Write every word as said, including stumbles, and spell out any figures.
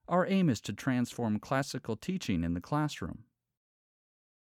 Our aim is to transform classical teaching in the classroom.